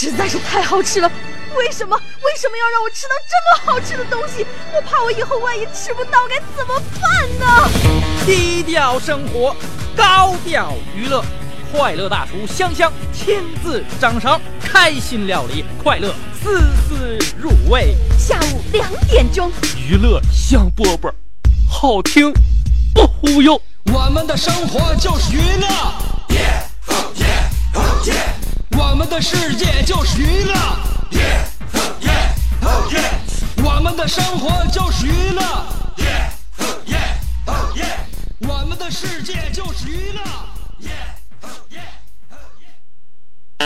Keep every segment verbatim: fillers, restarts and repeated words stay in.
实在是太好吃了。为什么为什么要让我吃到这么好吃的东西？我怕我以后万一吃不到该怎么办呢？ 低调生活，高调娱乐，快乐大厨香香亲自掌勺，开心料理，快乐丝丝入味。 下午两点钟， 娱乐香饽饽，好听不忽悠。 我们的生活就是娱乐， yeah, oh yeah, oh yeah. 我们的世界就是娱乐， yeah, oh yeah, oh yeah. 我们的生活就是娱乐， yeah, oh yeah, oh yeah. 我们的世界就是娱乐， yeah, oh yeah, oh yeah.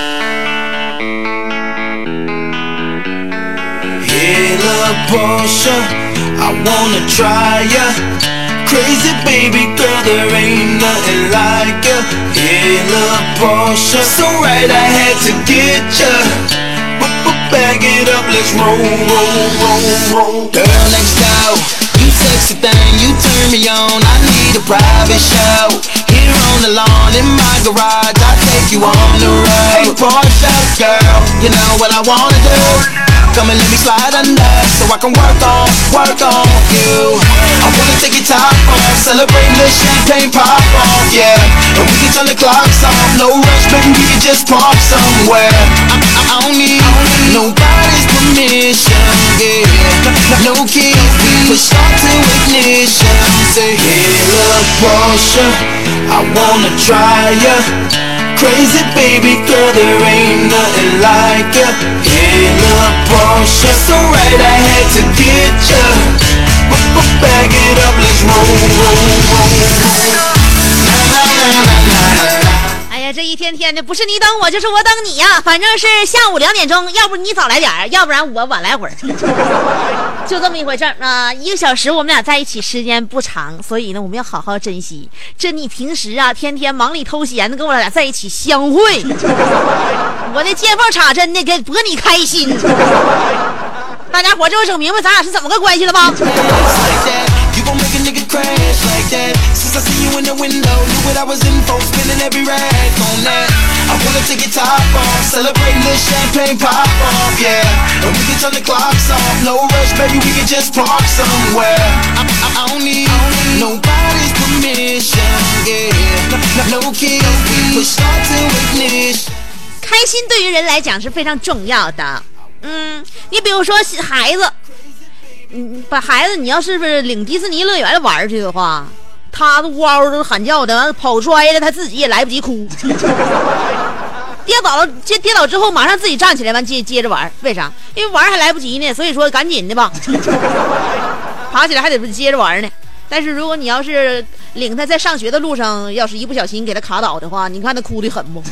Hey, little Portia, I wanna try ya. Crazy baby girl, there ain't nothing like ya. Hey, little Portia, so right I had to get ya. Bag it up, let's roll, roll, roll, roll. Girl next door, you sexy thing, you turn me on. I need a private show. Here on the lawn in my garage, I take you on the road. Hey, Portia, girl, you know what I wanna do. Come and let me slide under, so I can work on, work on you. I wanna take your top off, celebrate the champagne pop off, yeah. And we can turn the clocks off, no rush, baby, we can just park somewhere. I, I, I don't need nobody's permission, yeah. No keys, we push start to ignition. Say, hey, little Portia, I wanna try ya. Crazy baby girl, there ain't nothing like ya. Hey, little Portia, so right I had to get ya. Bag it up, let's roll, roll, roll. 哎呀，这一天天的，不是你等我，就是我等你呀。反正是下午两点钟，要不你早来点儿，要不然我晚来会儿，就这么一回事儿啊。一个小时我们俩在一起时间不长，所以呢，我们要好好珍惜。这你平时啊，天天忙里偷闲的跟我俩在一起相会，我的见缝插针的给博你开心。大家伙就整明白咱俩是怎么个关系了吧？ Since I see you in the window, knew what I was in for, spinning every rag on that. I wanna take your top off, celebrate the champagne pop off, yeah. And we can turn the clocks off, no rush, baby, we can just park somewhere. I, I, I don't need nobody's permission, yeah. No keys, we push start to ignition. 开心对于人来讲是非常重要的。嗯，你比如说孩子，嗯，把孩子你要是不是领迪士尼乐园玩去的话，他都嗷嗷都喊叫的，完了跑摔了，他自己也来不及哭，跌倒了，跌跌倒之后马上自己站起来，完接接着玩，为啥？因为玩还来不及呢，所以说赶紧的吧，爬起来还得接着玩呢。但是如果你要是领他在上学的路上，要是一不小心给他卡倒的话，你看他哭得很不？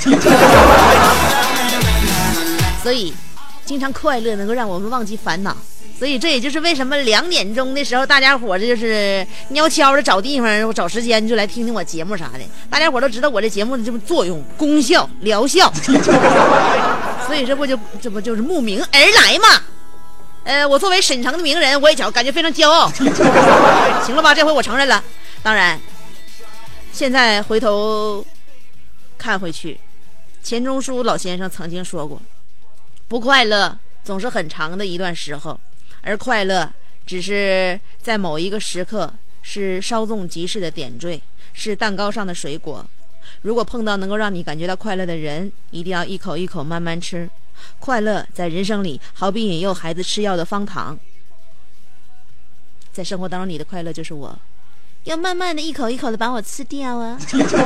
所以经常快乐能够让我们忘记烦恼，所以这也就是为什么两点钟的时候大家伙这就是悄悄的找地方找时间就来听听我节目啥的，大家伙都知道我这节目的这么作用功效疗效所以这不就这不就是慕名而来嘛。呃，我作为沈城的名人，我也感觉非常骄傲行了吧，这回我承认了。当然现在回头看回去，钱钟书老先生曾经说过，不快乐总是很长的一段时候，而快乐只是在某一个时刻，是稍纵即逝的点缀，是蛋糕上的水果。如果碰到能够让你感觉到快乐的人，一定要一口一口慢慢吃。快乐在人生里好比引诱孩子吃药的方糖，在生活当中你的快乐就是我要慢慢的一口一口的把我吃掉啊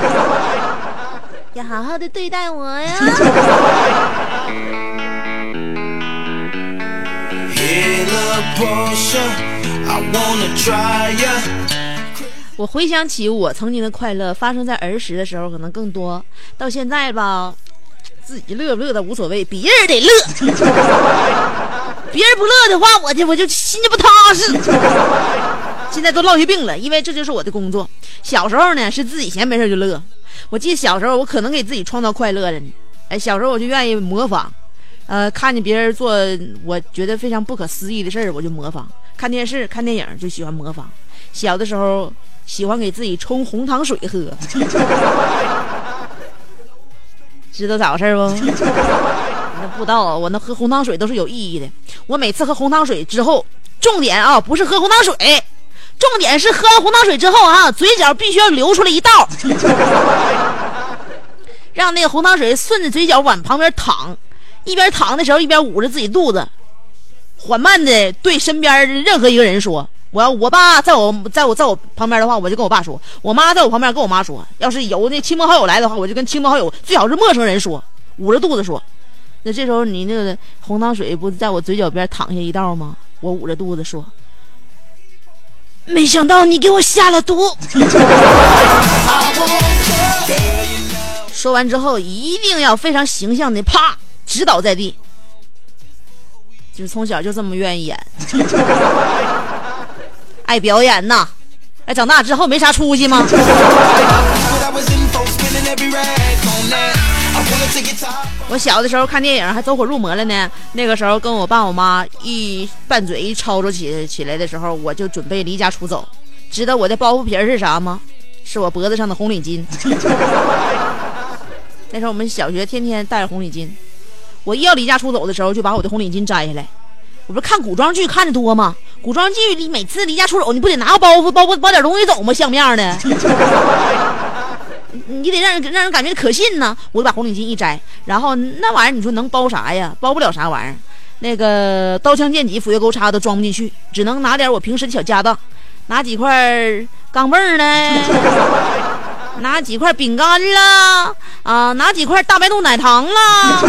要好好的对待我呀我回想起我曾经的快乐发生在儿时的时候可能更多，到现在吧自己乐不乐的无所谓，别人得乐别人不乐的话我就我就心就不踏实现在都落下病了，因为这就是我的工作。小时候呢是自己闲没事就乐，我记得小时候我可能给自己创造快乐了呢。哎，小时候我就愿意模仿，呃，看见别人做我觉得非常不可思议的事儿，我就模仿。看电视、看电影就喜欢模仿。小的时候喜欢给自己冲红糖水喝，知道咋回事不？ 那不知道啊，我那喝红糖水都是有意义的。我每次喝红糖水之后，重点啊不是喝红糖水，重点是喝完红糖水之后啊，嘴角必须要流出来一道，让那个红糖水顺着嘴角往旁边淌，一边淌的时候一边捂着自己肚子，缓慢的对身边任何一个人说。我要我爸在我在我在我旁边的话，我就跟我爸说；我妈在我旁边跟我妈说。要是有那亲朋好友来的话，我就跟亲朋好友，最好是陌生人说，捂着肚子说。那这时候你那个红糖水不在我嘴角边淌下一道吗？我捂着肚子说：“没想到你给我下了毒。”说完之后，一定要非常形象的啪直倒在地。就是从小就这么愿意演。爱表演呐，哎，长大之后没啥出息吗？我小的时候看电影还走火入魔了呢，那个时候跟我爸我妈一拌嘴一吵吵起起来的时候，我就准备离家出走。知道我的包袱皮是啥吗？是我脖子上的红领巾。那时候我们小学天天带着红领巾，我一要离家出走的时候，就把我的红领巾摘下来。我不是看古装剧看的多吗？古装剧里每次离家出走，你不得拿个包袱包包点东西走吗？像面的，你得让人让人感觉可信呢。我就把红领巾一摘，然后那玩意儿你说能包啥呀？包不了啥玩意儿。那个刀枪剑戟斧钺钩叉都装不进去，只能拿点我平时的小家当，拿几块钢镚儿呢，拿几块饼干啦，啊，拿几块大白兔奶糖啦，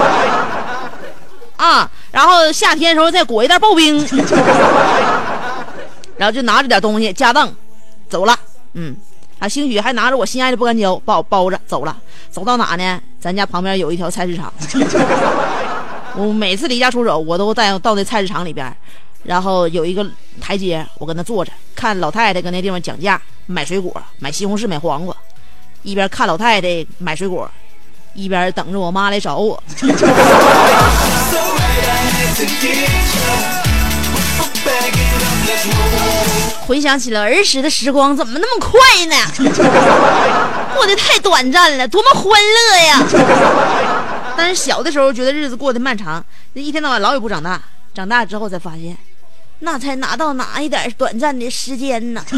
啊。然后夏天的时候再裹一袋刨冰，然后就拿着点东西家当走了。嗯，啊，兴许还拿着我心爱的不干胶把我包着走了。走到哪呢？咱家旁边有一条菜市场。我每次离家出走，我都带到那菜市场里边，然后有一个台阶，我跟那坐着，看老太太跟那地方讲价，买水果，买西红柿，买黄瓜，一边看老太太买水果，一边等着我妈来找我。回想起了儿时的时光，怎么那么快呢？过得太短暂了，多么欢乐呀！但是小的时候觉得日子过得漫长，一天到晚老也不长大，长大之后才发现，那才拿到哪一点短暂的时间呢？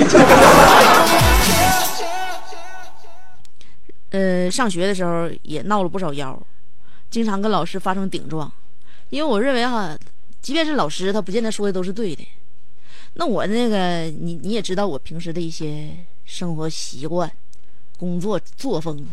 呃，上学的时候也闹了不少妖，经常跟老师发生顶撞，因为我认为哈，即便是老师，他不见得说的都是对的。那我那个，你你也知道我平时的一些生活习惯、工作作风，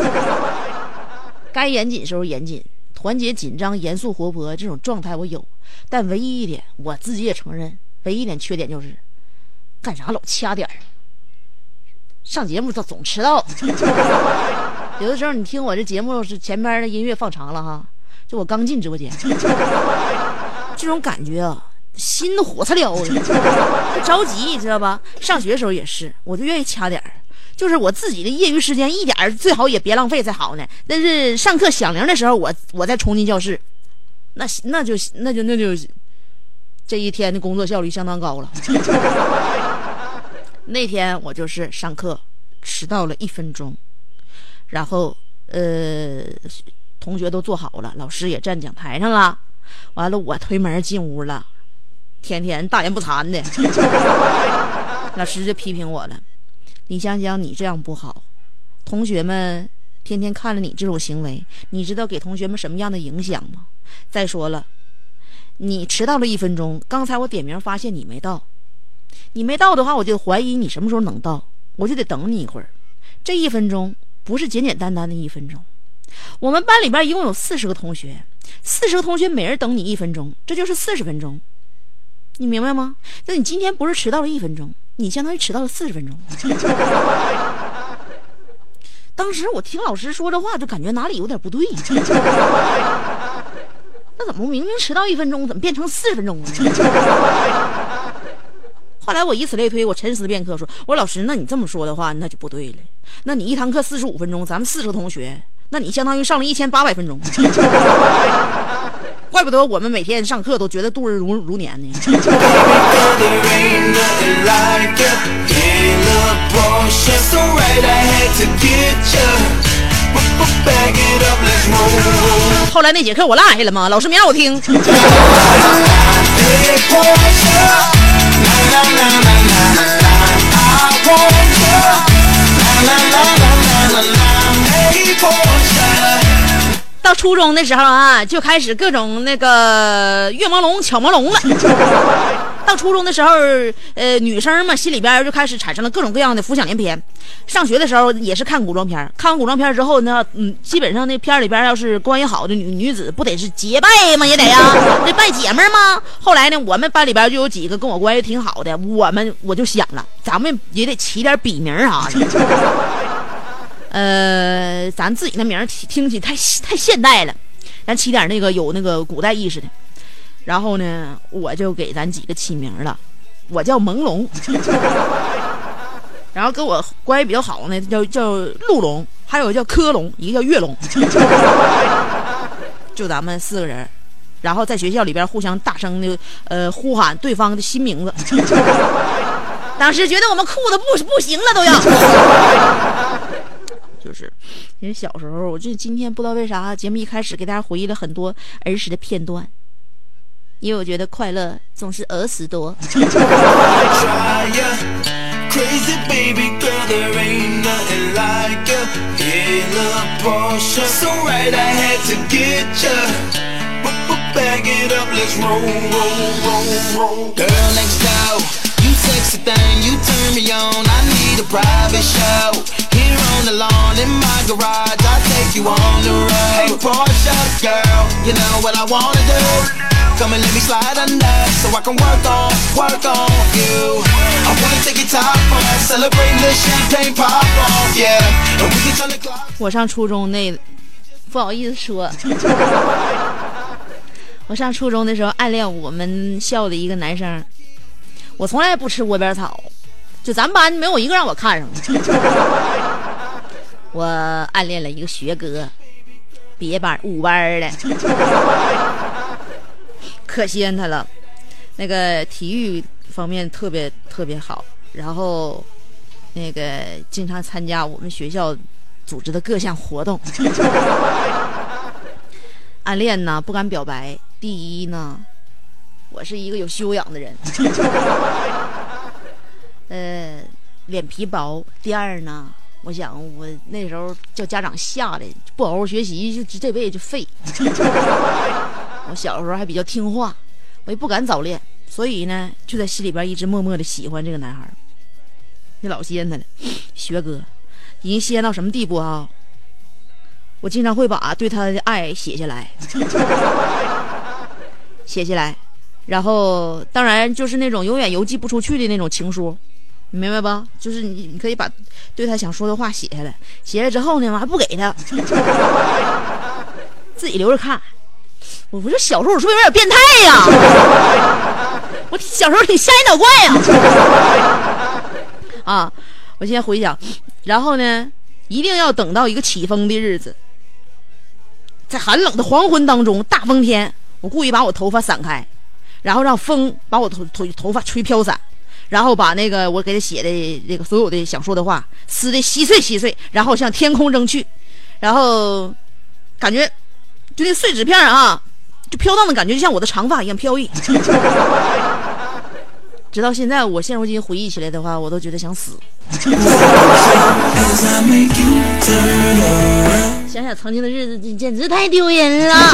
该严谨时候严谨，团结、紧张、严肃、活泼这种状态我有，但唯一一点，我自己也承认，唯一一点缺点就是干啥老掐点儿。上节目总总迟到，有的时候你听我这节目是前边的音乐放长了哈，就我刚进直播间，这种感觉啊，心都火擦燎的，着急，你知道吧？上学的时候也是，我就愿意掐点儿，就是我自己的业余时间一点最好也别浪费才好呢。但是上课响铃的时候，我我再冲进教室，那那就那就那就这一天的工作效率相当高了。那天我就是上课迟到了一分钟，然后呃，同学都坐好了，老师也站讲台上了，完了我推门进屋了，天天大言不惭的，老师就批评我了，你想想你这样不好，同学们天天看了你这种行为，你知道给同学们什么样的影响吗？再说了，你迟到了一分钟，刚才我点名发现你没到，你没到的话，我就怀疑你什么时候能到，我就得等你一会儿。这一分钟不是简简单单的一分钟。我们班里边一共有四十个同学，四十个同学每人等你一分钟，这就是四十分钟。你明白吗？那你今天不是迟到了一分钟，你相当于迟到了四十分钟。当时我听老师说这话，就感觉哪里有点不对。那怎么明明迟到一分钟，怎么变成四十分钟了？后来我以此类推，我沉思片刻说，我说老师，那你这么说的话那就不对了，那你一堂课四十五分钟，咱们四十个同学，那你相当于上了一千八百分钟。怪不得我们每天上课都觉得度日如如年呢。 后来那节课我落下了嘛，老师没让我听。到初中的时候啊，就开始各种那个月朦胧巧朦胧了。到初中的时候，呃，女生嘛，心里边就开始产生了各种各样的浮想联翩。上学的时候也是看古装片，看完古装片之后呢，嗯，基本上那片里边要是关系好的女女子，不得是结拜吗？也得呀，这拜姐们吗？后来呢，我们班里边就有几个跟我关系挺好的，我们我就想了，咱们也得起点笔名啥的。呃，咱自己的名听起太太现代了，咱起点那个有那个古代意识的。然后呢，我就给咱几个起名了，我叫朦胧，然后跟我关系比较好呢，叫叫陆龙，还有叫科龙，一个叫月龙，就咱们四个人，然后在学校里边互相大声的呃呼喊对方的新名字。当时觉得我们酷的不不行了都要。就是因为小时候，我这今天不知道为啥节目一开始给大家回忆了很多儿时的片段，因为我觉得快乐总是儿时多。Crazy baby girl, there ain't nothing like ya. In a Porsche, so right I had to get ya. Bag it up, let's roll, roll, roll, roll. Girl next door, you sexy thing, you turn me on. I need a private show. Here on the lawn in my garage, I'll take you on the road. Hey Porsche girl, you know what I wanna do. Come and let me slide under, so I can work on, work on you. I wanna take it top off, celebrate the champagne pop off, yeah. And we can turn the clock. 我上初中那，不好意思说，我上初中的时候暗恋我们校的一个男生，我从来不吃窝边草，就咱班没有一个让我看上的。我暗恋了一个学哥，别班五班的。可惜他了，那个体育方面特别特别好，然后那个经常参加我们学校组织的各项活动。暗恋呢不敢表白，第一呢，我是一个有修养的人，呃，脸皮薄。第二呢，我想我那时候叫家长吓的，不好好学习，就这辈子就废。我小时候还比较听话，我也不敢早恋，所以呢，就在心里边一直默默的喜欢这个男孩。你老稀罕他了，学哥，已经稀罕到什么地步啊？我经常会把对他的爱写下来，写下来，然后当然就是那种永远邮寄不出去的那种情书，你明白吧？就是你你可以把对他想说的话写下来，写下来之后呢，我还不给他，自己留着看。我不是小时候我是不是有点变态呀？我小时候挺吓人脑怪呀！啊，我现在回想，然后呢，一定要等到一个起风的日子，在寒冷的黄昏当中，大风天，我故意把我头发散开，然后让风把我头头头发吹飘散，然后把那个我给他写的这个所有的想说的话撕的稀碎稀碎，然后向天空扔去，然后感觉就那碎纸片啊，就飘荡的感觉就像我的长发一样飘逸。直到现在我现如今回忆起来的话，我都觉得想死。想想曾经的日子简直太丢人了。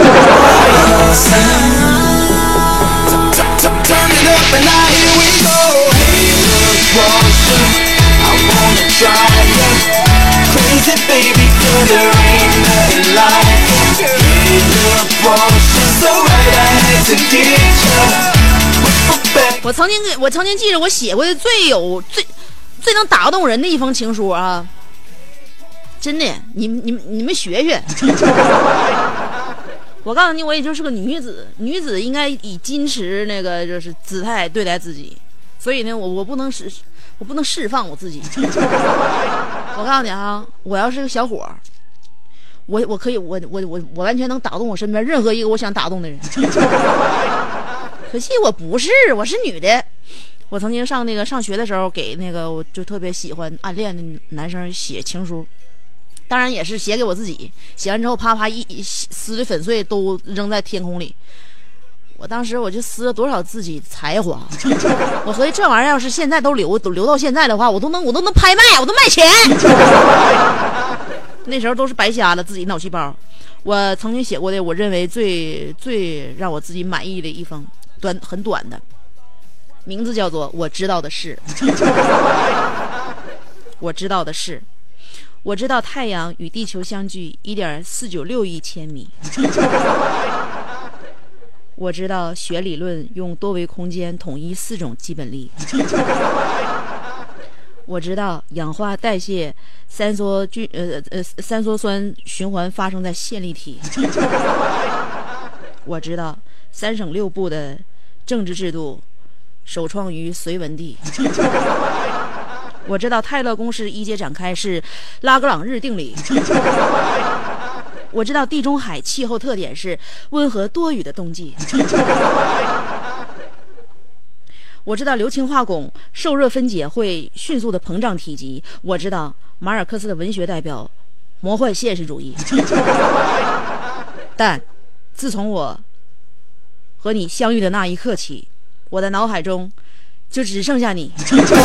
我曾经我曾经记着我写过的最有最最能打动人的一封情书啊，真的，你你你们学学。我告诉你，我也就是个女子，女子应该以矜持那个就是姿态对待自己，所以呢，我我不能释我不能释放我自己。我告诉你啊，我要是个小伙，我我可以我我我我完全能打动我身边任何一个我想打动的人。可惜我不是，我是女的。我曾经上那个上学的时候，给那个我就特别喜欢暗恋的男生写情书， 当然也是写给我自己，写完之后啪啪一撕的粉碎都扔在天空里。我当时我就撕了多少自己才华，我合计这玩意儿要是现在都留都留到现在的话，我都能我都能拍卖，我都卖钱。那时候都是白瞎了自己脑细胞。我曾经写过的，我认为最最让我自己满意的一封短很短的，名字叫做《我知道的事》。我知道的事，我知道太阳与地球相距 一点四九六亿千米。我知道学理论用多维空间统一四种基本力。我知道氧化代谢三羧菌呃呃三羧酸循环发生在线粒体。我知道三省六部的政治制度首创于隋文帝。我知道泰勒公式一阶展开是拉格朗日定理。我知道地中海气候特点是温和多雨的冬季。我知道硫氰化汞受热分解会迅速的膨胀体积。我知道马尔克斯的文学代表魔幻现实主义。但自从我和你相遇的那一刻起，我的脑海中就只剩下你。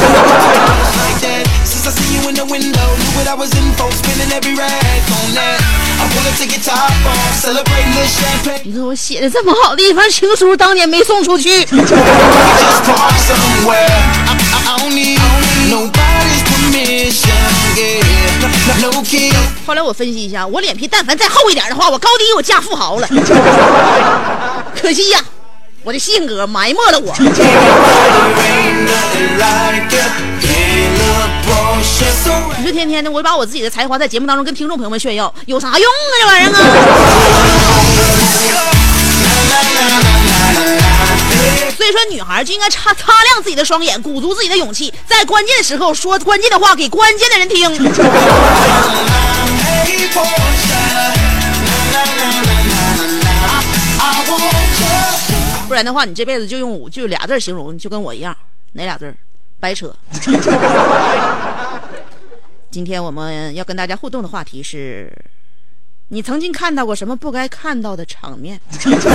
你说我写的这么好的一封情书，当年没送出去。后来我分析一下，我脸皮但凡再厚一点的话，我高低我嫁富豪了。可惜呀、啊，我的性格埋没了我。你说天天的我把我自己的才华在节目当中跟听众朋友们炫耀，有啥用啊这玩意儿啊。所以说女孩就应该擦擦亮自己的双眼，鼓足自己的勇气，在关键的时候说关键的话给关键的人听。不然的话你这辈子就用就俩字形容，就跟我一样，哪俩字？白扯。今天我们要跟大家互动的话题是，你曾经看到过什么不该看到的场面？这个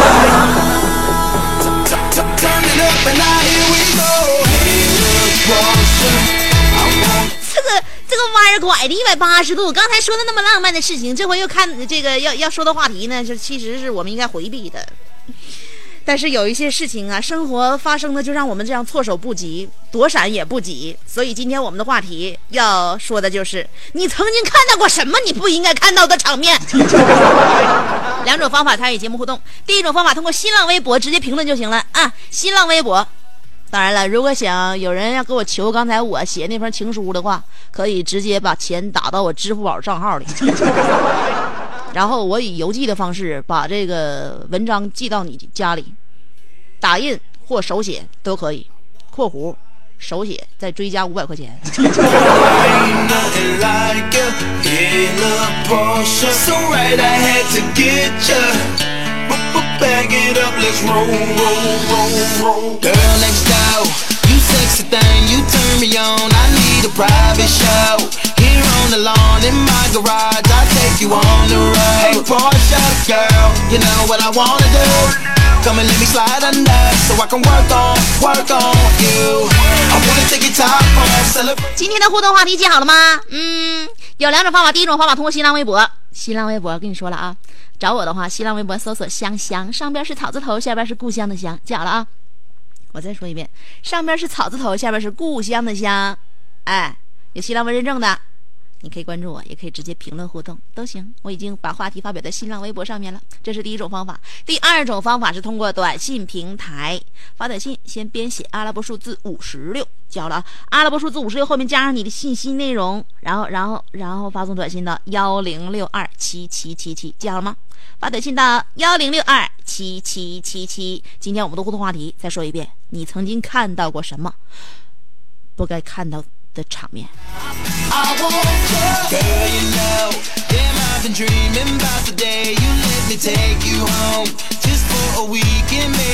这个弯儿拐的一百八十度，刚才说的那么浪漫的事情，这回又看这个要要说的话题呢，就其实是我们应该回避的。但是有一些事情啊，生活发生的就让我们这样措手不及，躲闪也不及。所以今天我们的话题要说的就是，你曾经看到过什么你不应该看到的场面。两种方法参与节目互动，第一种方法通过新浪微博直接评论就行了啊，新浪微博。当然了，如果想有人要给我求刚才我写那封情书的话，可以直接把钱打到我支付宝账号里。然后我以邮寄的方式把这个文章寄到你家里，打印或手写都可以，括弧手写再追加五百块钱。Sexy thing, you turn me on. I need a private show. Here on the lawn in my garage, I take you on the road. Hey, Porsche girl, you know what I wanna do. Come and let me slide under, so I can work on, work on you. I wanna take your top off, celebrate. 今天的互动话题记好了吗？嗯，有两种方法。第一种方法通过新浪微博，新浪微博跟你说了啊，找我的话，新浪微博搜索香香，上边是草字头，下边是故乡的乡，记好了啊。我再说一遍，上边是草字头，下边是故乡的乡。哎，有新浪微认证的，你可以关注我，也可以直接评论互动都行。我已经把话题发表在新浪微博上面了，这是第一种方法。第二种方法是通过短信平台发短信，先编写阿拉伯数字五十六，记好了啊，阿拉伯数字五十六后面加上你的信息内容，然后然后然后发送短信到幺零六二七七七七，记好了吗？发短信到幺零六二七七七七。今天我们的互动话题再说一遍，你曾经看到过什么不该看到的场面？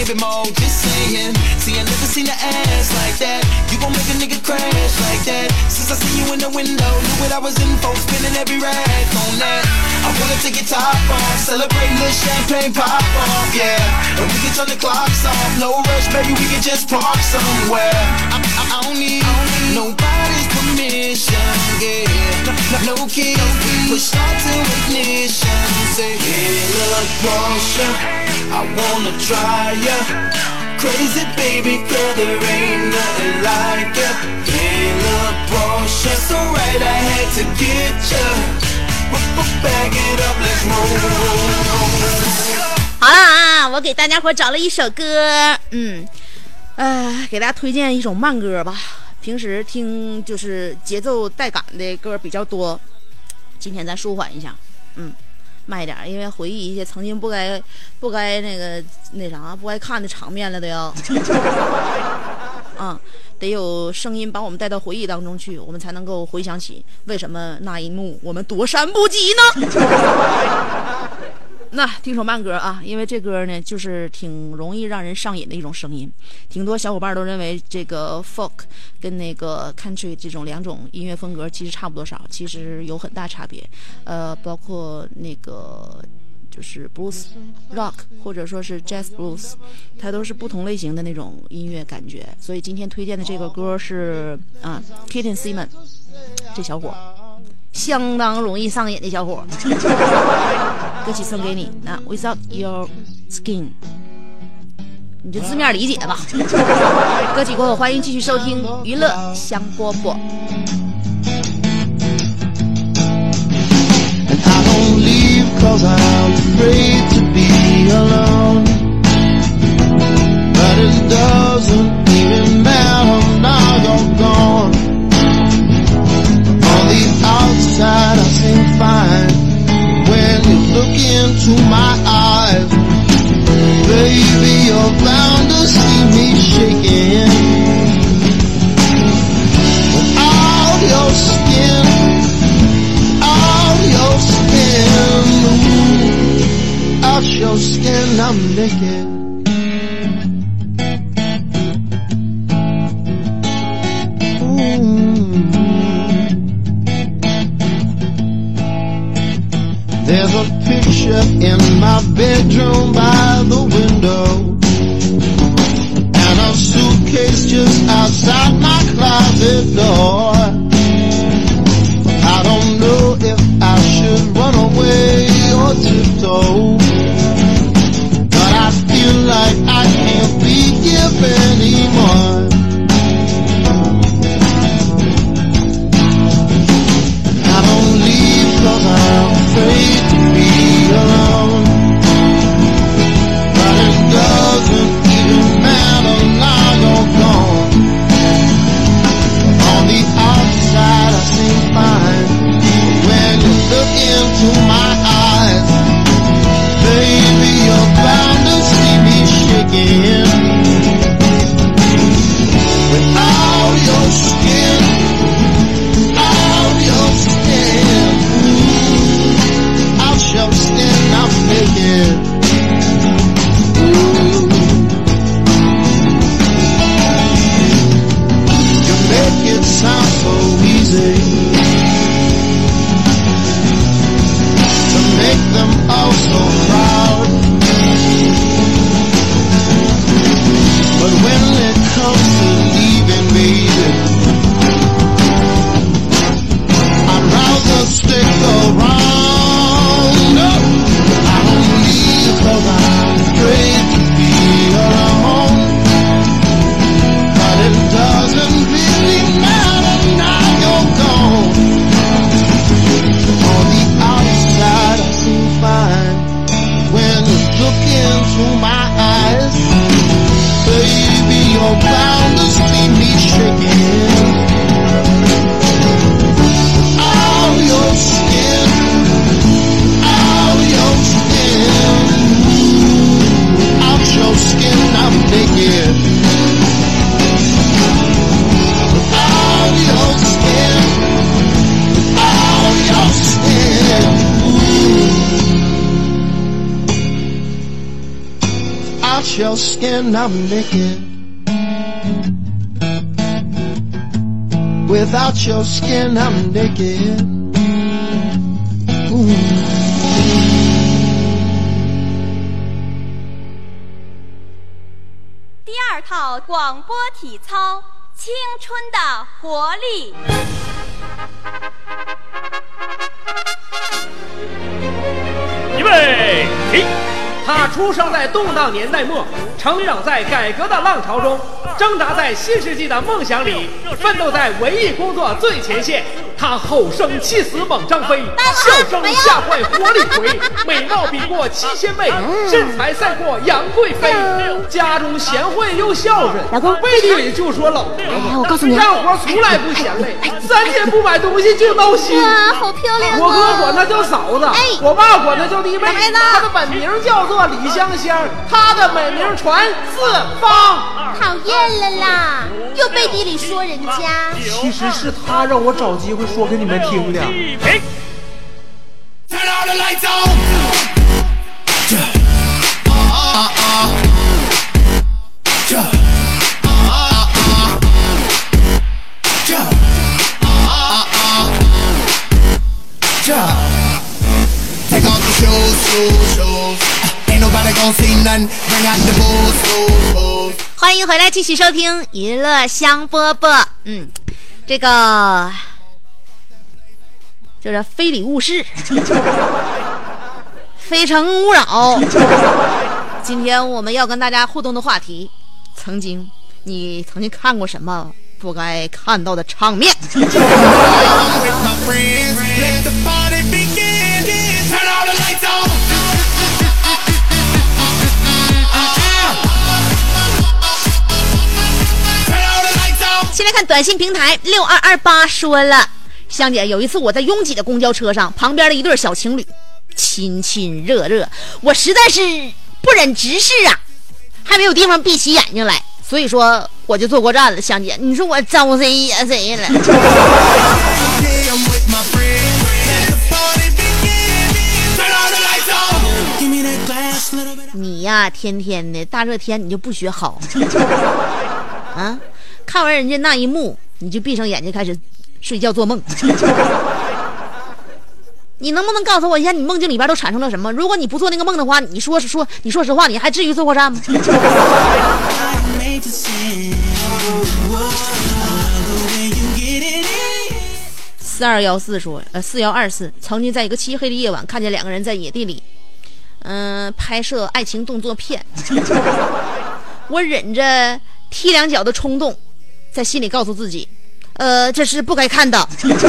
baby more, just saying. See, I never seen an ass like that. You gon' make a nigga crash like that. Since I seen you in the window, knew what I was in for, spinning every rag on that. I wanna take your top off, celebrate little champagne pop off, yeah. And we can turn the clocks off, no rush, baby, we can just park somewhere. I, I, I don't need nobody's permission, yeah. No, no, no keys, push start to ignition. Say, hey, look, Porsche, I wanna try ya. Crazy baby girl, there ain't nothing like ya. Hey, look, Porsche, so right, I had to get ya. Back it up, let's roll. 好了啊，我给大家伙找了一首歌，嗯，呃，给大家推荐一首慢歌吧。平时听就是节奏带感的歌比较多，今天咱舒缓一下，嗯，慢一点，因为回忆一些曾经不该不该那个那啥不该看的场面了都要，啊、嗯，得有声音把我们带到回忆当中去，我们才能够回想起为什么那一幕我们躲闪不及呢？那听首慢歌啊，因为这歌呢就是挺容易让人上瘾的一种声音，挺多小伙伴都认为这个 folk 跟那个 country 这种两种音乐风格其实差不多少，其实有很大差别，呃，包括那个就是 blues rock 或者说是 jazz blues， 它都是不同类型的那种音乐感觉。所以今天推荐的这个歌是啊 Keaton Simon 这小伙相当容易上瘾的小伙，歌曲送给你。那 Without Your Skin， 你就字面理解吧。歌曲过后，欢迎继续收听娱乐香饽饽。 I don't leave 'cause I'm afraid to be alone, but it doesn't even matter now you're gone. On the outside I seem fine, when you look into my eyes, baby you're bound to see me shaking. Without your skin, your skin, ooh, out your skin I'm naked. Ooh. There's a picture in my bedroom by the window, and a suitcase just outside my closet door. I don't know if I should run away or tiptoe, but I feel like I can't be here anymore. I don't leave 'cause I'm afraid to be alone, but it doesn't even matter now you're gone. On the your skin, I'm naked. Without your skin, I'm naked. Ooh. 第二套广播体操，青春的活力。 预备，起！他出生在动荡年代末，成长在改革的浪潮中，挣扎在新世纪的梦想里，奋斗在文艺工作最前线。他吼声气死猛张飞，笑声吓坏活李逵，美貌比过七仙妹，身材赛过杨贵妃。家中贤惠又孝顺， 老公背地里就说老婆子。 哎，我告诉你， 干活从来不嫌累，三天不买东西就闹心。 哇，好漂亮！ 我哥管她叫嫂子， 哎， 我爸管她叫弟妹。她的本名叫做李香香，她的美名传四方。 讨厌了啦，又背地里说人家。 其实是她让我找机会说给你们听的。 Turn all the lights on. Take off the shoes, shoes, shoes. Ain't nobody gonna see nothing. Bring out the booze, booze, booze. 欢迎回来，继续收听娱乐香饽饽。嗯，这个就是非礼勿视，非诚勿扰。今天我们要跟大家互动的话题，曾经你曾经看过什么不该看到的场面？先来看短信平台六二二八说了，香姐，有一次我在拥挤的公交车上，旁边的一对小情侣亲亲热热，我实在是不忍直视啊，还没有地方闭起眼睛来，所以说我就坐过站了。香姐，你说我招谁惹谁了？你呀，天天的大热天你就不学好啊！看完人家那一幕，你就闭上眼睛开始睡觉做梦。你能不能告诉我一下，你梦境里边都产生了什么？如果你不做那个梦的话，你说说，你说实话，你还至于坐过站吗？四二幺四说，呃，四幺二四曾经在一个漆黑的夜晚，看见两个人在野地里，嗯、呃，拍摄爱情动作片。我忍着踢两脚的冲动，在心里告诉自己，呃，这是不该看的。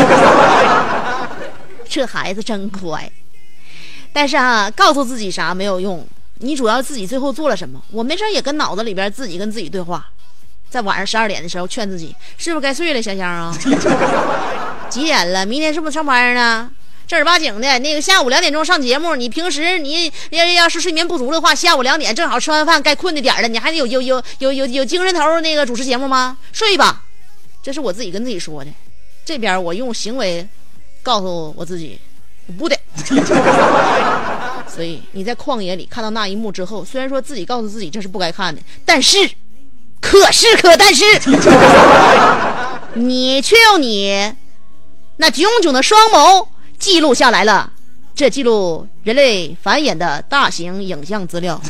这孩子真乖，但是啊，告诉自己啥没有用，你主要自己最后做了什么。我没事也跟脑子里边自己跟自己对话，在晚上十二点的时候劝自己，是不是该睡了，香香啊？几点了？明天是不是上班呢？正儿八经的那个下午两点钟上节目，你平时你要要是睡眠不足的话，下午两点正好吃完饭该困的点了，你还有有有有有有精神头那个主持节目吗？睡吧，这是我自己跟自己说的。这边我用行为告诉我自己不得。所以你在旷野里看到那一幕之后，虽然说自己告诉自己这是不该看的，但是可是可但是你却用你那炯炯的双眸记录下来了，这记录人类繁衍的大型影像资料。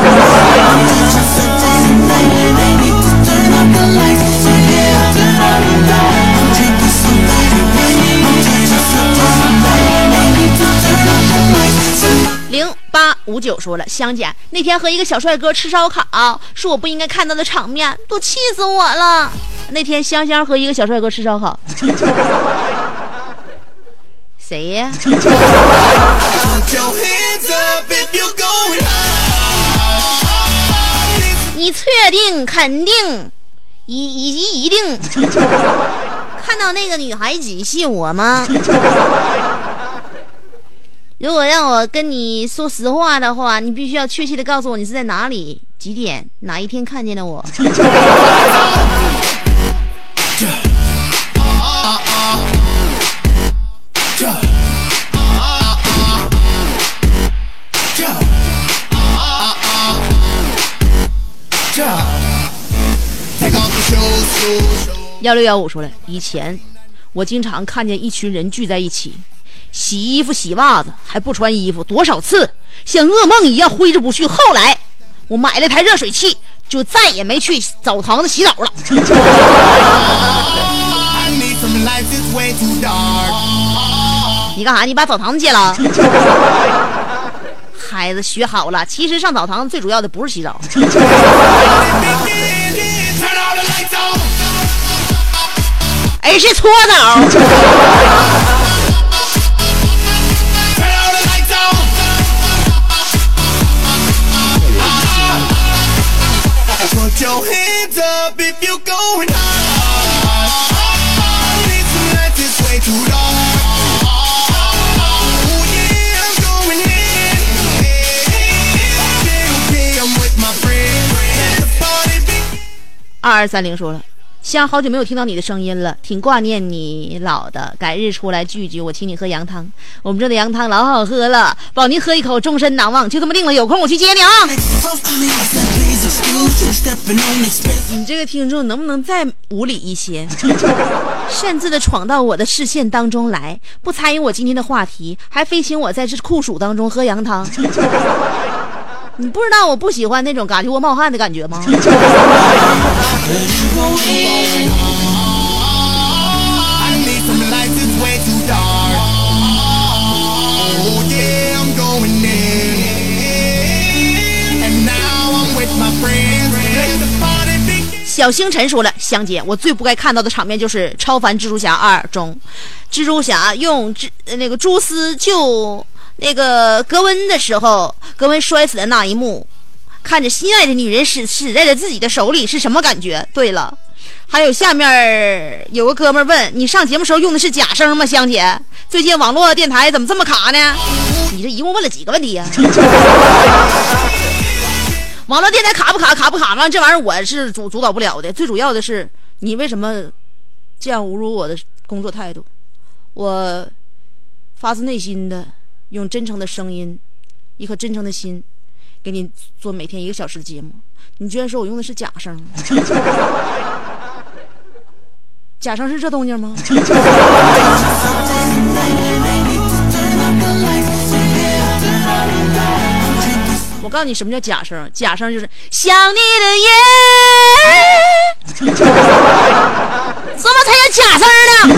零八五九说了，香姐，那天和一个小帅哥吃烧烤，是我不应该看到的场面，都气死我了。那天香香和一个小帅哥吃烧烤。谁呀？你确定肯定以以及一定看到那个女孩子信我吗？如果让我跟你说实话的话，你必须要确切的告诉我你是在哪里、几点、哪一天看见了我。 幺六幺五说了，以前我经常看见一群人聚在一起，洗衣服洗袜子还不穿衣服，多少次像噩梦一样挥之不去。后来我买了台热水器，就再也没去澡堂子洗澡了。你干啥？你把澡堂子戒了？孩子学好了，其实上澡堂子最主要的不是洗澡。而是搓澡。二二三零说了，香好久没有听到你的声音了，挺挂念你老的，改日出来聚聚，我请你喝羊汤，我们这的羊汤老好喝了，保您喝一口终身难忘。就这么定了，有空我去接你啊。你这个听众能不能再无理一些，擅自的闯到我的视线当中来，不参与我今天的话题，还非请我在这酷暑当中喝羊汤。你不知道我不喜欢那种嘎吱窝冒汗的感觉吗？小星辰说了，香姐，我最不该看到的场面就是《超凡蜘蛛侠二》中，蜘蛛侠用蜘那个蛛丝救那个格温的时候，格温摔死的那一幕，看着心爱的女人死死在了自己的手里是什么感觉？对了，还有下面有个哥们问你上节目时候用的是假声吗？香姐，最近网络电台怎么这么卡呢？你这一共问了几个问题呀、啊？网络电台卡不卡卡不卡吗？这玩意儿我是主主导不了的，最主要的是你为什么这样侮辱我的工作态度？我发自内心的用真诚的声音，一颗真诚的心，给你做每天一个小时的节目。你居然说我用的是假声？假声是这动静吗？我告诉你什么叫假声，假声就是想你的夜，怎么才叫假声呢？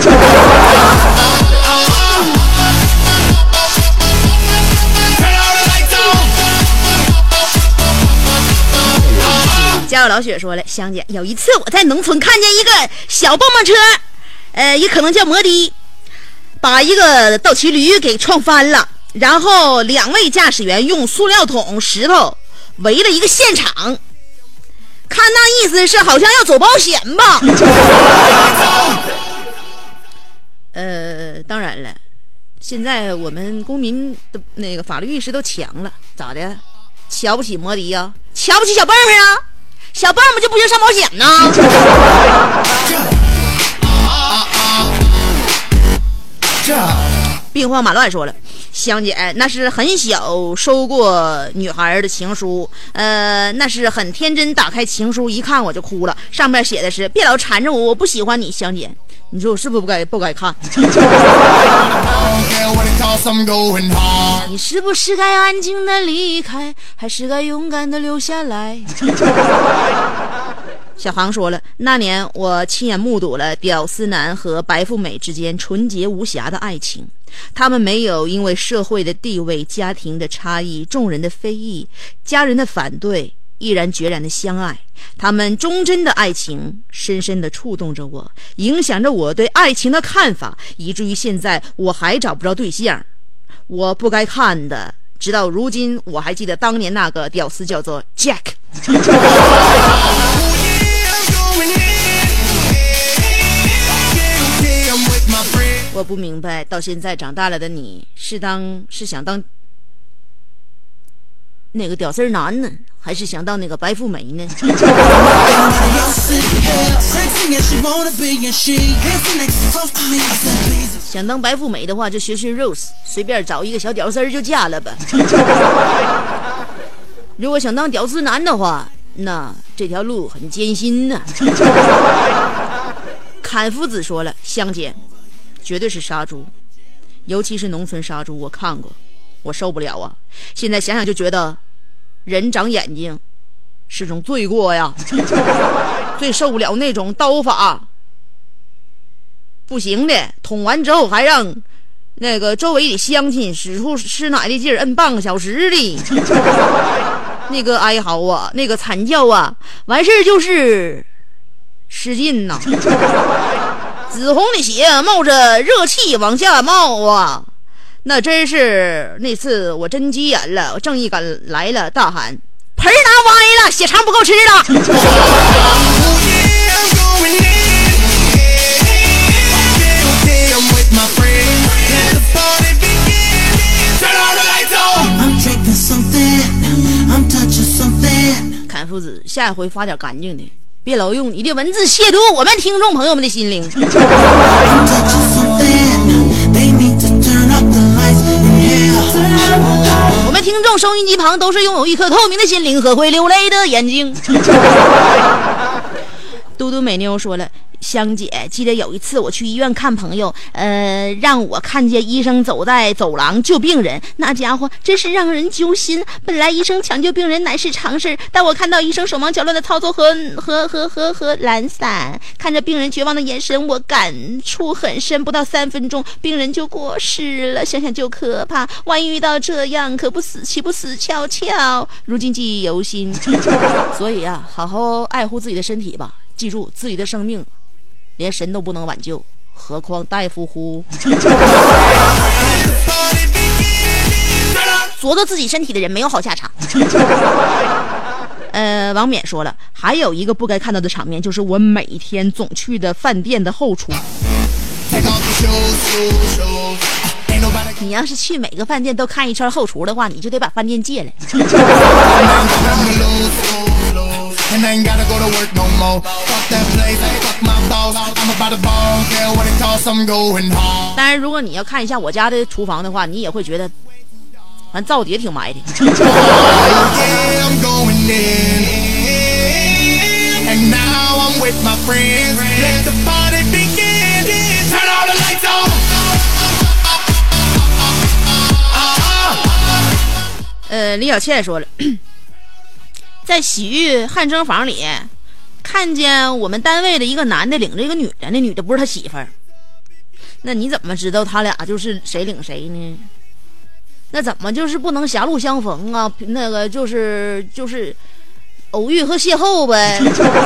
家有老雪说了，香姐，有一次我在农村看见一个小蹦蹦车，呃，也可能叫摩的，把一个斗骑驴给撞翻了，然后两位驾驶员用塑料桶、石头围了一个现场，看那意思是好像要走保险吧。呃，当然了，现在我们公民的那个法律意识都强了，咋的？瞧不起摩的呀？瞧不起小蹦蹦啊？小蹦蹦就不行上保险呢？兵荒马乱说了，香姐，那是很小收过女孩的情书，呃，那是很天真，打开情书一看我就哭了，上面写的是别老缠着我，我不喜欢你，香姐，你说我是不是不该不该看？你是不是该安静的离开，还是该勇敢的留下来？小航说了，那年我亲眼目睹了屌丝男和白富美之间纯洁无瑕的爱情，他们没有因为社会的地位、家庭的差异、众人的非议、家人的反对，毅然决然的相爱。他们忠贞的爱情深深的触动着我，影响着我对爱情的看法，以至于现在我还找不着对象。我不该看的，直到如今我还记得当年那个屌丝叫做 Jack。我不明白，到现在长大了的你是当是想当那个屌丝男呢，还是想当那个白富美呢？想当白富美的话，就学学 Rose， 随便找一个小屌丝就嫁了吧。如果想当屌丝男的话，那这条路很艰辛呢、啊。 砍夫子说了，香姐绝对是杀猪，尤其是农村杀猪，我看过，我受不了啊！现在想想就觉得人长眼睛是种罪过呀，最受不了那种刀法不行的，捅完之后还让那个周围的乡亲使出吃奶的劲儿，摁半个小时的那个哀嚎啊，那个惨叫啊，完事儿就是使劲呐，紫红的血冒着热气往下冒啊，那真是那次我真急眼了，正义感来了，大喊盆拿歪了，血肠不够吃了。砍夫子，下一回发点干净的，别老用你的文字亵渎我们听众朋友们的心灵。我们听众收音机旁都是拥有一颗透明的心灵和会流泪的眼睛。嘟嘟美妞说了，香姐，记得有一次我去医院看朋友，呃，让我看见医生走在走廊救病人，那家伙真是让人揪心。本来医生抢救病人乃是常事，但我看到医生手忙脚乱的操作和和和和和懒散，看着病人绝望的眼神，我感触很深。不到三分钟，病人就过世了，想想就可怕。万一遇到这样，可不死岂不死翘翘？如今记忆犹新。所以啊，好好爱护自己的身体吧。记住，自己的生命连神都不能挽救，何况大夫乎？琢磨自己身体的人没有好下场。呃，王冕说了，还有一个不该看到的场面，就是我每天总去的饭店的后厨。你要是去每个饭店都看一圈后厨的话，你就得把饭店戒了。And I ain't gotta go to work no more. Fuck that place, fuck my boss. I'm about to ball, care what it costs, I'm going home. 当然，如果你要看一下我家的厨房的话，你也会觉得，反正灶底也挺埋的。And now I'm with my friends. Let the party begin. Turn all the lights on. 呃，李小倩说了。在洗浴汗蒸房里看见我们单位的一个男的领着一个女的，那女的不是他媳妇儿，那你怎么知道他俩就是谁领谁呢？那怎么就是不能狭路相逢啊？那个就是就是偶遇和邂逅呗。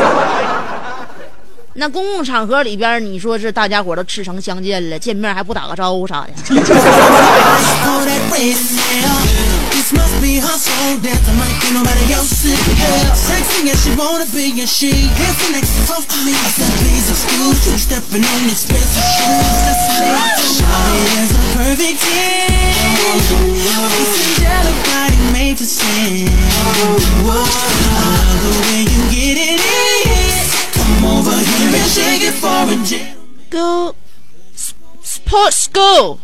那公共场合里边，你说是大家伙都赤诚相见了，见面还不打个招呼啥的。Must be her soul dancing like ain't nobody else in hell. Sexy as she wanna be, and she dancing next to close to me. I said, please excuse you stepping on expensive shoes. That's me. Shawty is a perfect ten. It's angelic body made to sin. I love the way you get it in. Come over here and shake it for a jet. Go sports go.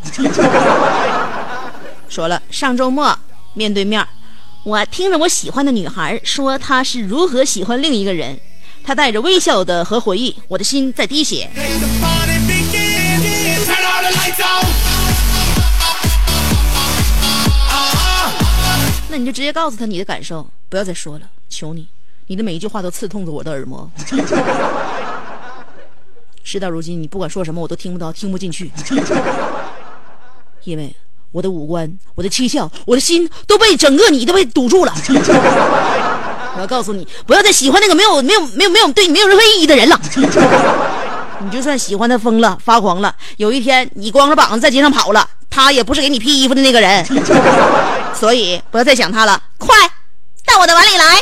说了，上周末。面对面，我听着我喜欢的女孩说她是如何喜欢另一个人，她带着微笑的和回忆，我的心在滴血。那你就直接告诉她你的感受，不要再说了，求你，你的每一句话都刺痛着我的耳膜。事到如今，你不管说什么我都听不到，听不进去，因为我的五官，我的七窍，我的心都被整个你都被堵住了。我要告诉你，不要再喜欢那个没有没有没有没有对你没有任何意义的人了。你就算喜欢他疯了发狂了，有一天你光着膀子在街上跑了，他也不是给你披衣服的那个人。所以不要再想他了，快到我的碗里来。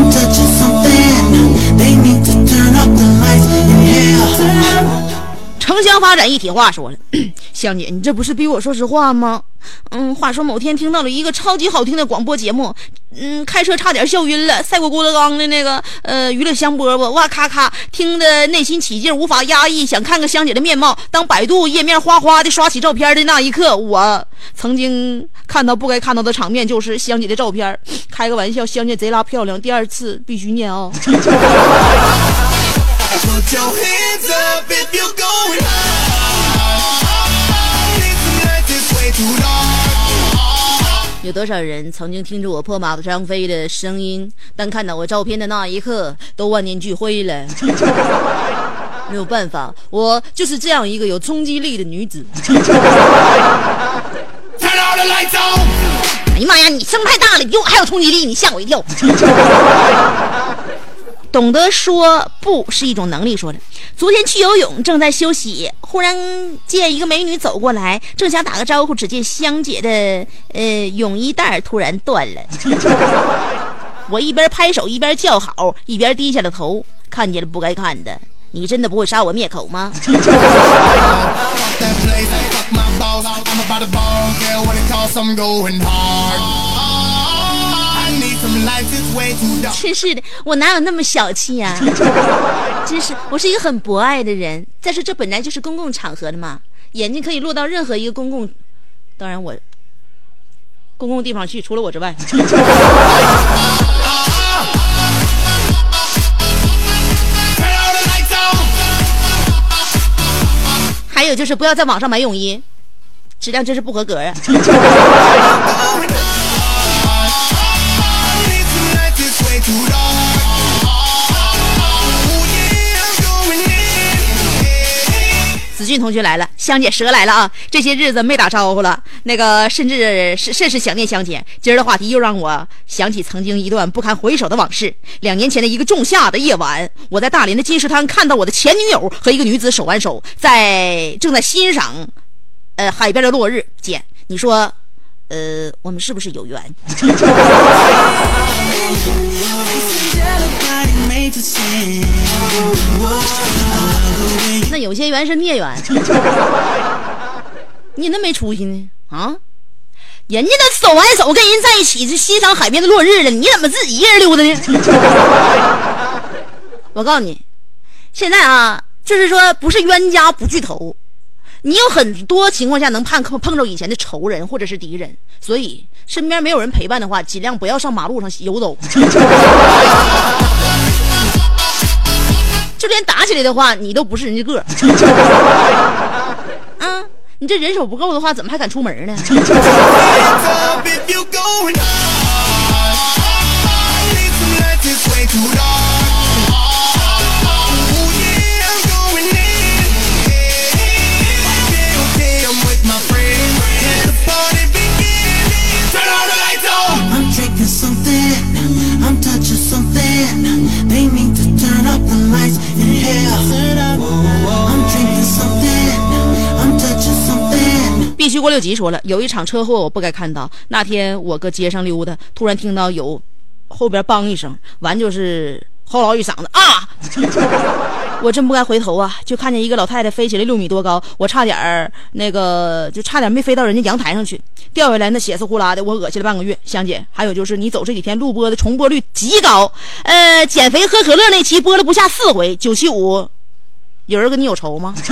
城城乡发展一体化说了，香姐，你这不是逼我说实话吗？嗯，话说某天听到了一个超级好听的广播节目，嗯，开车差点笑晕了，赛过郭德纲的那个呃娱乐香饽饽，哇咔咔，听得内心起劲，无法压抑，想看个香姐的面貌。当百度页面哗哗的刷起照片的那一刻，我曾经看到不该看到的场面，就是香姐的照片。开个玩笑，香姐贼拉漂亮，第二次必须念啊、哦。 Put your hands up if you're going high. Tonight this way too long. 有多少人曾经听着我破马张飞的声音，但看到我照片的那一刻都万念俱灰了。没有办法，我就是这样一个有冲击力的女子。哎呀妈呀，你声太大了，比我还有冲击力，你吓我一跳。懂得说不是一种能力。说的昨天去游泳，正在休息，忽然见一个美女走过来，正想打个招呼，只见香姐的呃泳衣带突然断了。我一边拍手一边叫好，一边低下了头，看见了不该看的。你真的不会杀我灭口吗？真是的，我哪有那么小气呀、啊？真是，我是一个很博爱的人。再说这本来就是公共场合的嘛，眼睛可以落到任何一个公共，当然我公共地方去，除了我之外。还有就是不要在网上买泳衣，质量真是不合格啊。子俊同学来了，香姐蛇来了啊！这些日子没打招呼了，那个甚至是甚是想念香姐。今儿的话题又让我想起曾经一段不堪回首的往事。两年前的一个仲夏的夜晚，我在大连的金石滩看到我的前女友和一个女子手挽手，在正在欣赏呃海边的落日。姐，你说呃我们是不是有缘？那有些缘是孽缘。你那没出息呢啊！人家都手挽手跟人在一起是欣赏海边的落日了，你怎么自己一人溜达呢？我告诉你，现在啊，就是说不是冤家不聚头，你有很多情况下能碰碰着以前的仇人或者是敌人，所以身边没有人陪伴的话，尽量不要上马路上游走。就连打起来的话，你都不是人家个。啊，你这人手不够的话，怎么还敢出门呢？必须过六级说了，有一场车祸我不该看到。那天我搁街上溜达，突然听到有后边梆一声，完就是吼老一嗓子啊！我真不该回头啊，就看见一个老太太飞起来六米多高，我差点儿那个就差点没飞到人家阳台上去，掉下来那血丝呼啦的，我恶心了半个月。香姐，还有就是你走这几天录播的重播率极高，呃，减肥喝可乐那期播了不下四回，九七五，有人跟你有仇吗？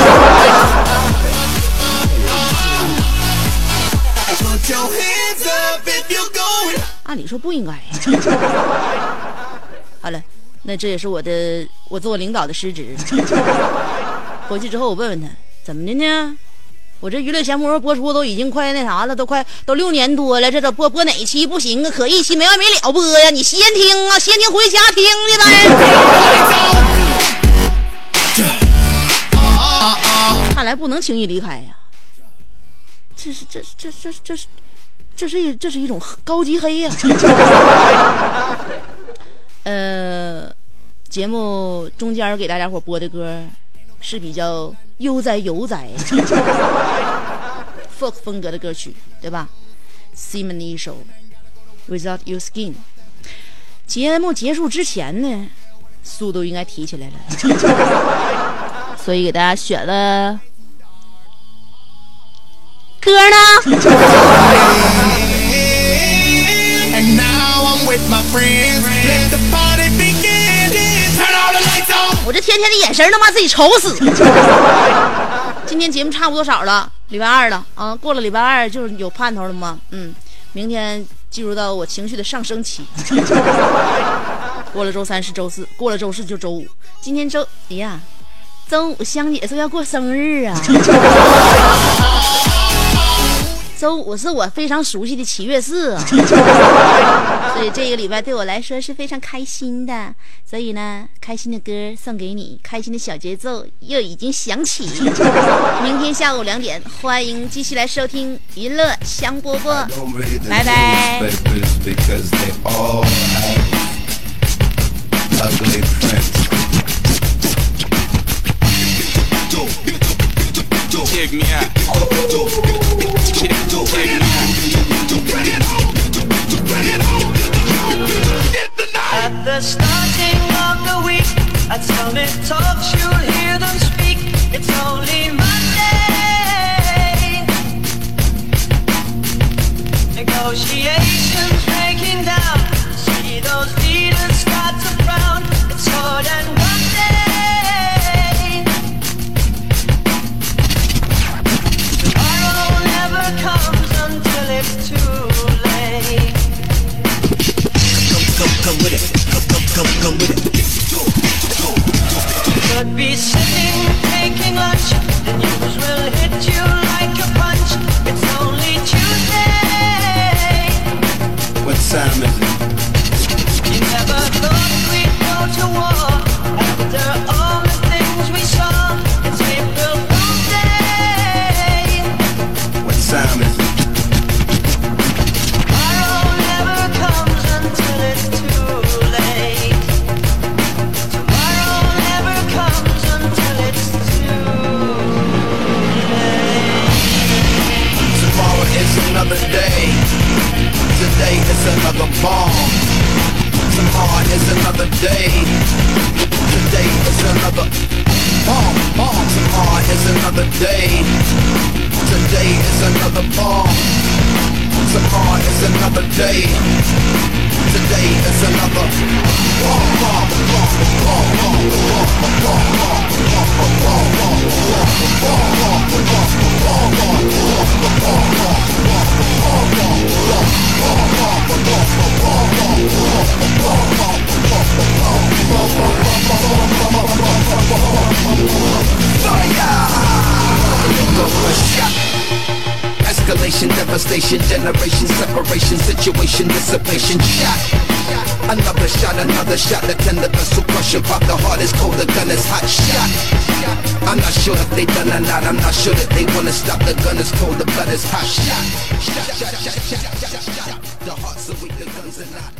按理说不应该。好了，那这也是我的我做领导的失职。回去之后我问问他怎么的呢？我这娱乐节目播出都已经快那啥了，都快都六年多了，这这播播哪期不行啊？可一期没完没了播呀！你先听啊，先听回家听的呗。看来不能轻易离开呀。这是这这这这是这是一这是一种高级黑呀。呃，节目中间给大家伙播的歌是比较悠哉悠哉folk 风格的歌曲，对吧 ？Simon 首 Without Your Skin。节目结束之前呢，速度应该提起来了。 所以给大家选了歌呢。我这天天的眼神能把自己愁死。今天节目差不多少了，礼拜二了啊，过了礼拜二就是有盼头了吗？嗯，明天进入到我情绪的上升期。过了周三是周四，过了周四就周五。今天周，哎呀，周五香姐说要过生日啊。周五是我非常熟悉的七月四啊，所以这个礼拜对我来说是非常开心的。所以呢，开心的歌送给你，开心的小节奏又已经响起。明天下午两点，欢迎继续来收听娱乐香饽饽，拜拜。 Take me out. At the starting of the week, at Summit Talks you'll hear them speak. It's only Monday. Negotiations breaking down. See those leaders start to frown. It's more than one day. Tomorrow never comes until it's too late. Come, come with it. Come, come, come, come with it. Could be sitting, taking lunch. The news will hit you like a punch. It's only Tuesday. What time is it? You never thought we'd go to war after all the things we saw. It's April Fool's Day. What time is it? Tomorrow never comes until it's too late. Tomorrow never comes until it's too late. Tomorrow is another day. Today is another bomb. Tomorrow is another day. Today is another bomb. Bomb. Tomorrow is another day. Today is another bomb. Tomorrow is another day. Today is another bomb. Bomb. Bomb. Bomb. Escalation, devastation, generation, separation, situation, dissipation, shot. Another shot, another shot, the tender vessel crushing, pop the heart is cold, the gun is hot, shot. I'm not sure if they done or not, I'm not sure that they wanna stop, the gun is cold, the blood is hot, shot. Shot, shot, shot, shot, shot, shot, shot. The hearts are weak, the guns are not.